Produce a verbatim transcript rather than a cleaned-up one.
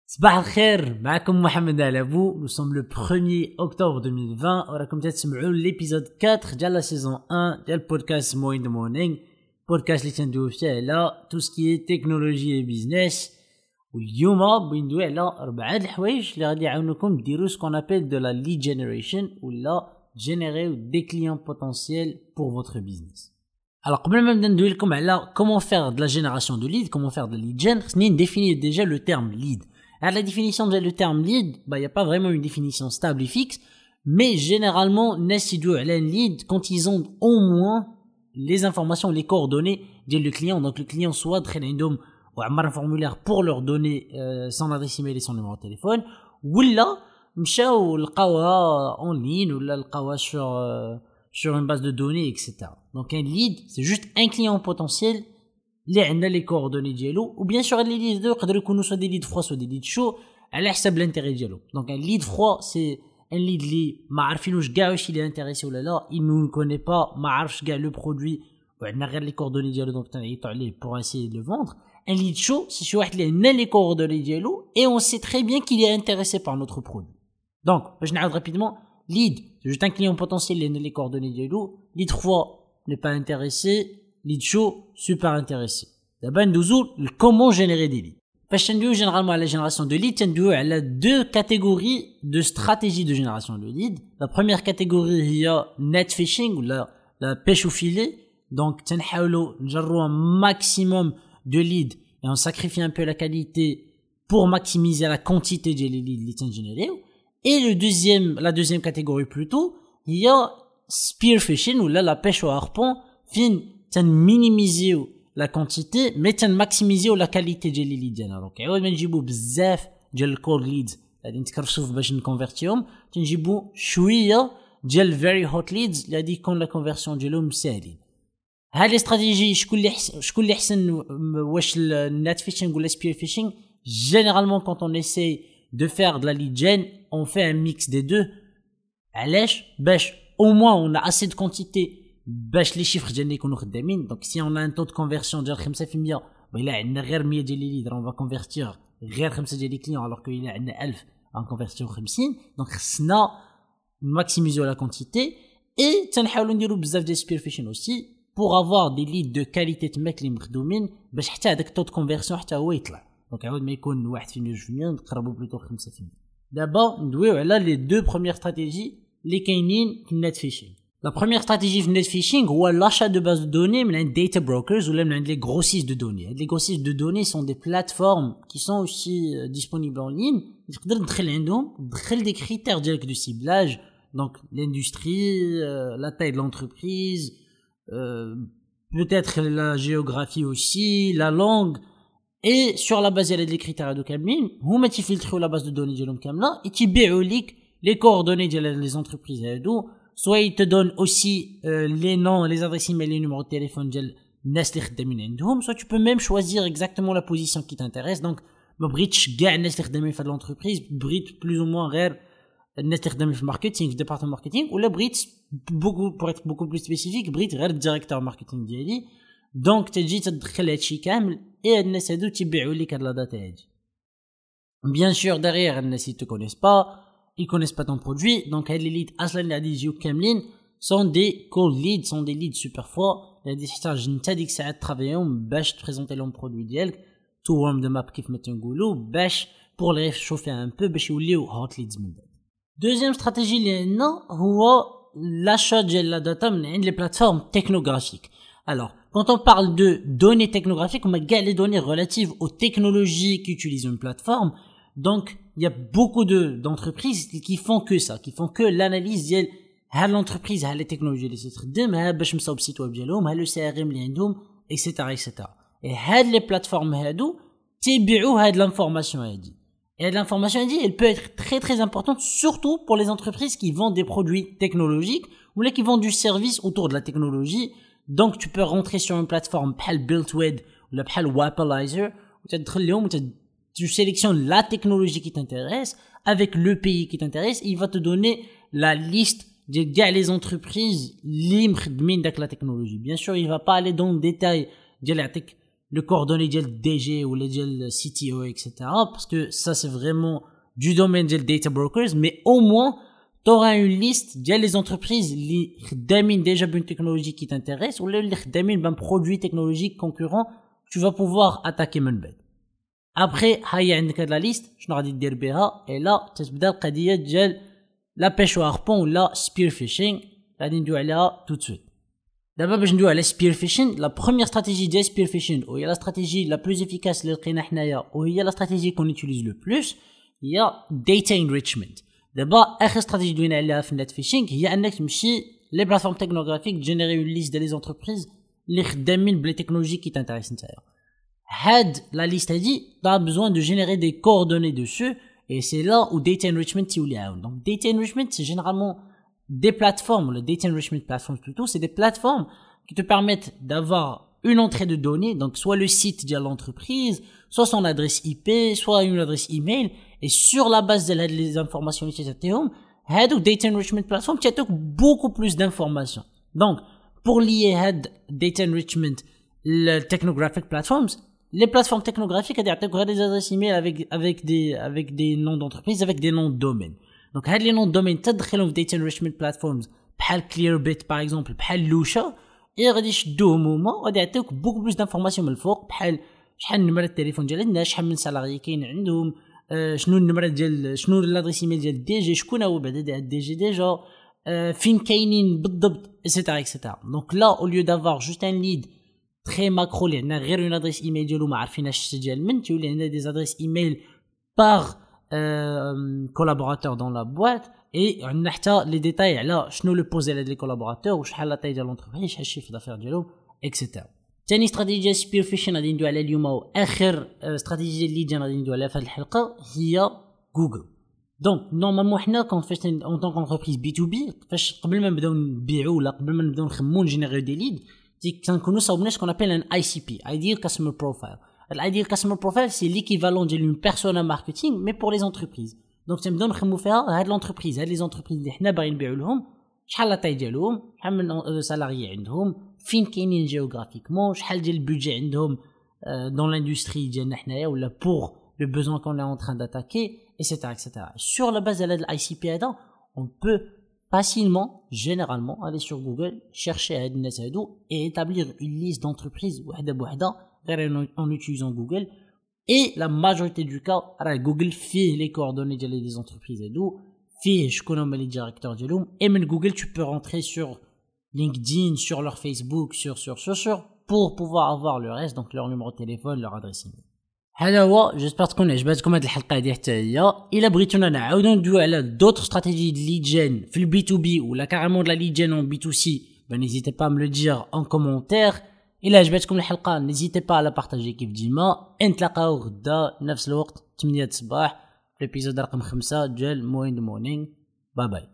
صباح الخير معكم محمد علابو. Nous sommes le premier octobre deux mille vingt وراكم تسمعوا l'épisode quatre ديال la saison un ديال podcast Mo in the Morning, podcast اللي تندوي فيه على tout ce qui est technologie et business. واليوم بغي ندوي على اربعه د الحوايج اللي غادي يعاونوكم ديروا ce qu'on appelle de la lead generation ولا générer des clients potentiels pour votre business. Alors, قبل ما نبدا ندوي لكم على comment faire de la génération de lead, comment faire de la lead gen, خصني نديفيني déjà le terme lead. Alors, la définition de le terme lead, bah, il n'y a pas vraiment une définition stable et fixe, mais généralement, Nessido et lead, quand ils ont au moins les informations, les coordonnées de le client, donc le client soit très random ou un formulaire pour leur donner euh, son adresse email et son numéro de téléphone, ou là, مشاو لقاوها en ligne, ou là, لقاوها sur, euh, sur une base de données, et cetera. Donc, un lead, c'est juste un client potentiel اللي عندنا لي كوردوني ديالو. وبيان سور لي ليد دو يقدروا يكونوا سوا دي ليد فروا سوا دي ليد شو على حساب الانتيري ديالو. دونك ان ليد فروا سي ان ليد اللي ما عارفينوش كاع واش اللي انتريسي ولا لا، il nous connaît pas، ما عارفش كاع لو برودوي وعندنا غير لي كوردوني ديالو دونك تنعيطوا عليه pour essayer de le vendre. Un lead show c'est شي واحد اللي عندنا لي كوردوني ديالو et on sait très bien qu'il est intéressé par notre produit. Donc باش نعاود rapidement, lead c'est juste un client potentiel اللي عندنا لي كوردوني ديالو. lead trois n'est pas intéressé, lead show super intéressé. D'abord ندوزو comment générer des leads. فاش ندويو généralement à la génération de leads, ندويو على deux catégories de stratégies de génération de leads. La première catégorie هي net fishing ولا la pêche au filet. Donc تنحاولوا نجروا un maximum de leads et on sacrifie un peu la qualité pour maximiser la quantité ديال les leads اللي تنجينيريو. Et le deuxième la deuxième catégorie plutôt هي spear fishing ولا la pêche au harpon, فين تنمينيميزيو la quantité mais تنماكسيميزيو la qualité ديال لي ليد ديالنا. دونك عوض ما نجيبو بزاف ديال الكولد ليدز غادي نتكرشف باش نكونفيرتيهم، تنجيبو شويه ديال فيري هوت ليدز اللي غادي يكون لا كونفيرسيون ديالهم ساهلين. هاد لي استراتيجي شكون اللي حسن شكون اللي حسن واش النت فيشينغ ولا سبير فيشينغ؟ généralement quand on essaie de faire de la lead gen on fait un mix des deux. علاش؟ باش au moins on a assez de quantité باش لي شيفر ديالنا يكونوا خدامين. دونك سي اون ان تو دو كونفيرسيون ديال خمسة في المية ولا عندنا غير مية ديال لي ليد راه كونفيرتير غير خمسة ديال لي كليون الوغ كو الا عندنا ألف كونفيرتيو خمسين. دونك خصنا ماكسيميزيو لا كونتيتي اي تنحاولوا نديروا بزاف ديال سبير فيشن اوسي بور افوار دي ليد دو كاليتي تماك اللي مخدومين باش حتى هذاك التو دو كونفيرسيون حتى هو يطلع. دونك عاود ما يكون واحد في المية جوج في المية نقربوا بلوتو خمسة في المية. دابا ندويو على لي دو بروميير استراتيجي اللي كاينين في النت فيشين. La première stratégie de net phishing ou l'achat de bases de données mais les data brokers ou les grossistes de données. Les grossistes de données sont des plateformes qui sont aussi euh, disponibles en ligne. تقدر تدخل عندهم تدخل des critères directs de ciblage, donc l'industrie, euh, la taille de l'entreprise, euh, peut-être la géographie aussi, la langue, et sur la base ديال les critères de كاملين هما تيفلتروا la base de données ديالهم كامله et تيبيعوا لك les coordonnées ديال les entreprises هادو. Soit ils te donnent aussi euh, les noms, les adresses email, les numéros de téléphone de الناس اللي خدامين عندهم. Soit tu peux même choisir exactement la position qui t'intéresse. Donc ما بغيتش كاع الناس اللي خدامين في هاد l'entreprise, بغيت plus ou moins غير الناس اللي خدامين في الماركتينغ في ديبارتمون ماركتينغ ولا بغيت beaucoup pour être beaucoup plus spécifique بغيت غير الديريكتور ماركتينغ ديالي. دونك تجي تدخل هادشي كامل اي هاد الناس هادو تيبيعوا لك هاد لا داتا هادي. Bien sûr derrière الناس ils te connaissent pas, ils connaissent pas ton produit. Donc les leads اصلا اللي غادي يجيو كاملين sont des cold leads, sont des leads super forts. غادي تحتاج انت ديك الساعه ترافيهم باش تبريزونتي لهم برودوي ديالك تو ورم ذم اب كيف ما تنقولوا باش بور لي شوفي ان بو باش يوليو هوت ليدز من بعد. دوزيام استراتيجي اللي عندنا هو l'achat ديال لا داتا من عند لي بلاتفورم تكنوغرافيك. Alors quand on parle de données technographiques, on a كاع les données relatives aux technologies qu'utilise une plateforme. Donc il y a beaucoup de d'entreprises qui font que ça, qui font que l'analyse ديال ها l'entreprise ها les technologies اللي تستخدم ها باش مصاوب السيت ويب ديالهم ها لو سي ار ام اللي عندهم اكسيتيرا اكسيتيرا. et هاد les plateformes هادو تيبيعوا هاد l'information هادي. et l'information هادي elle peut être très très importante surtout pour les entreprises qui vendent des produits technologiques ou là qui vendent du service autour de la technologie. Donc tu peux rentrer sur une plateforme بحال BuiltWed ou بحال Wapalizer وتدخل لهم tu sélectionnes la technologie qui t'intéresse avec le pays qui t'intéresse et il va te donner la liste de كاع les entreprises اللي مخدمين داك la technologie. Bien sûr, il va pas aller dans le détail ديال يعطيك le coordonnées ديال D G ou les ديال C T O et cetera parce que ça c'est vraiment du domaine des data brokers, mais au moins t'auras une liste ديال les entreprises اللي خدامين déjà بune technologie qui t'intéresse ou اللي خدامين بun produit technologique concurrent. Tu vas pouvoir attaquer من بعد. Après هيا عندك هاد لا ليست شنو غادي دير بها et là تتبدا القضيه ديال لا بيش واربون ولا spear fishing غادي ندوي عليها tout de suite. دابا باش ندوي على spear fishing, la première stratégie ديال spear fishing وهي لا stratégie la plus efficace اللي لقينا حنايا وهي لا stratégie qu'on utilise le plus هي data enrichment. دابا اخر استراتيجي دوينا عليها في النت فيشينغ هي انك تمشي لي بلاتفورم تكنوغرافيك جينيري اون ليست ديال لي زونتربريز اللي خدامين بلي تكنولوجي كي تانتريس نتايا. هاد لا ليست هادي دا بزوان دو جينيري دي كوردوني دوسو et c'est là où data enrichment تيولي عاون. donc data enrichment c'est généralement des plateformes, le data enrichment platforms plutôt, c'est des plateformes qui te permettent d'avoir une entrée de données, donc soit le site de l'entreprise, soit son adresse I P, soit une adresse email, et sur la base de les informations que tu as, هادو data enrichment platform تعطيك beaucoup plus d'informations. Donc pour lier هاد data enrichment les technographic platforms, les plateformes technographiques elles يعطيك des adresses email avec avec des avec des noms d'entreprise, avec des noms de domaine. donc هاد les noms de domaine تدخلهم في data enrichment platforms بحال Clearbit par exemple, بحال Lusha, et غادي يشدوهم هما وغادي يعطيوك beaucoup plus d'informations من الفوق بحال شحال نمرة التليفون ديال الناس, شحال من سالاري كاين عندهم, آه شنو النمرة ديال شنو لادريس ايميل ديال الدي جي, شكون هو بعدا ديال الدي جي ديجا, آه فين كاينين بالضبط ايتترا ايتترا. دونك لا او ليو دافوار جوست ان ليد تري ماكرو اللي عندنا غير اون ادريس ايميل ديالو ما عارفيناش ديال من, تولي عندنا دي ادريس ايميل باغ كولابوراتور دون لا بواط, اي عندنا حتى لي ديتاي على شنو لو بوز ديال لي كولابوراتور وشحال لا تاي ديال لونتربريز, شحال الشيفر دافير ديالهم ايتترا. ثاني استراتيجيه ديال سبير فيشين غادي ندوي عليها اليوم, واخر استراتيجيه اللي جانا غادي ندوي عليها في هذه الحلقه هي جوجل. دونك نورمالمون حنا كون فاش اون طون كونتربريز بي تو بي, فاش قبل ما نبداو نبيعوا ولا قبل ما نبداو نخمموا نجينيريو دي ليد, كنكونوا صاوبنا شكون ابل ان اي سي بي, ايديال كاستمر بروفايل. الايديال كاستمر بروفايل سي ليكيفالون ديال اون بيرسونا ماركتينغ مي بور لي زونتربريز. دونك تنبداو نخمموا فيها هاد لونتربريز, هاد لي زونتربريز اللي حنا باغيين نبيعوا لهم, شحال لا طاي ديالهم, شحال من سالاري عندهم, فين كاينين جيوغرافيكمون, شحال ديال البودجي عندهم dans l'industrie ديالنا حنايا ولا pour le besoin qu'on est en train d'attaquer, etc etc. Sur la base de l'I C P هذا on peut facilement généralement aller sur Google, chercher هاد الناس هادو et établir une liste d'entreprises وحده بوحده غير en utilisant Google. et la majorité du cas راه Google فيه les coordonnées ديال les entreprises هادو, فيه شكون هما les directeurs ديالهم, et من Google tu peux rentrer sur LinkedIn, sur leur Facebook, sur sur sur sur pour pouvoir avoir le reste, donc leur numéro de téléphone, leur adresse email. هذا هو, جيسبر تكون عجبتكم هذه الحلقه هذه حتى هي. الا بغيتونا نعاودو ندويو على دوطر استراتيجي ديال ليد جين في البي تو بي ولا كارمون لا ليد جين اون بي تو سي, ben n'hésitez pas à me le dire en commentaire. الا عجبتكم الحلقه n'hésitez pas à la partager كيف ديما. نتلاقاو غدا نفس الوقت ثمانية الصباح في الابيزود رقم خمسة ديال موين مورنينغ. باي باي.